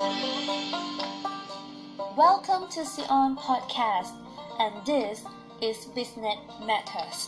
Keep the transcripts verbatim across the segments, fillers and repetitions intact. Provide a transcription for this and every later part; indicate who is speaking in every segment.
Speaker 1: Welcome to Sion Podcast, and this is Business Matters.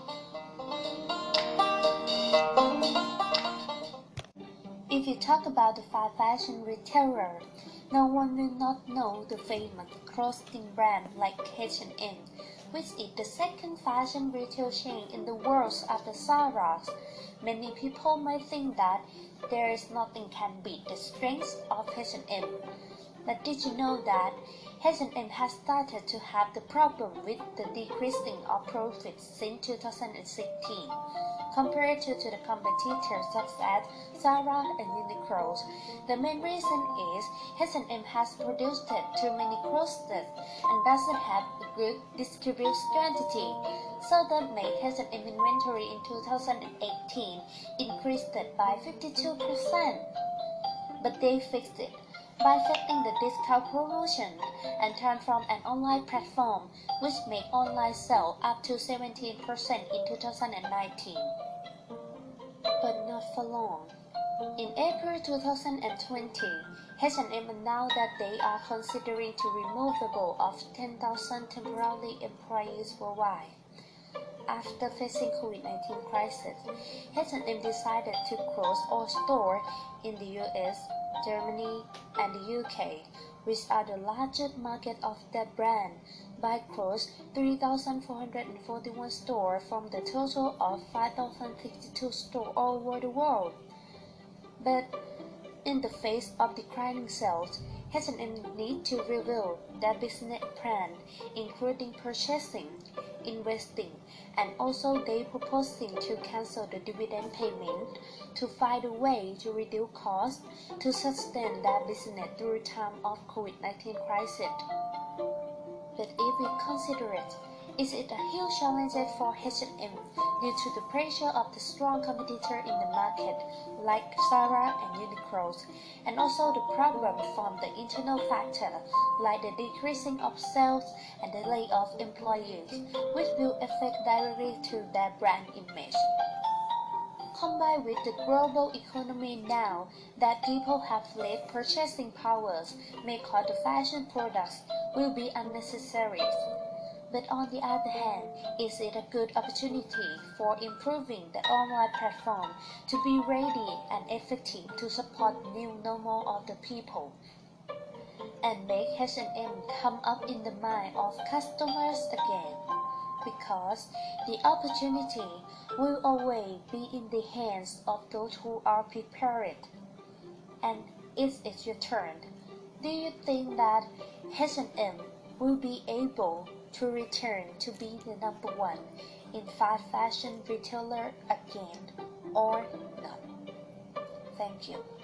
Speaker 1: If you talk about the fast fashion retailer, no one will not know the famous clothing brand like H and M, which is the second fashion retail chain in the world after Zara. Many people might think that there is nothing can beat the strength of H and M. But did you know that H and M has started to have the problem with the decreasing of profits since two thousand sixteen, compared to, to the competitors such as Zara and Uniqlo? The main reason is H and M has produced too many clothes and doesn't have a good distribution strategy, so that made H and M inventory in two thousand eighteen increased by fifty-two percent. But they fixed it by setting the discount promotion and turn from an online platform which made online sales up to seventeen percent in two thousand nineteen. But not for long. In April two thousand twenty, H and M announced that they are considering to remove of ten thousand temporary employees worldwide. After facing COVID nineteen crisis, H and M decided to close all stores in the U S, Germany, and the U K, which are the largest market of their brand, by close three thousand four hundred forty-one stores from the total of five thousand sixty-two stores all over the world. But in the face of declining sales, H and M needs to review their business plan, including purchasing, investing, and also they proposing to cancel the dividend payment to find a way to reduce costs to sustain their business during time of COVID nineteen crisis. But if we consider it, is it a huge challenge for H and M due to the pressure of the strong competitor in the market like Zara and Uniqlo, and also the problem from the internal factor like the decreasing of sales and the layoff of employees, which will affect directly to their brand image. Combined with the global economy now that people have less purchasing powers, may cause the fashion products will be unnecessary. But on the other hand, is it a good opportunity for improving the online platform to be ready and effective to support the new normal of the people and make H and M come up in the mind of customers again? Because the opportunity will always be in the hands of those who are prepared. And it's, it's your turn. Do you think that H and M will be able to return to be the number one in fast fashion retailer again or not? Thank you.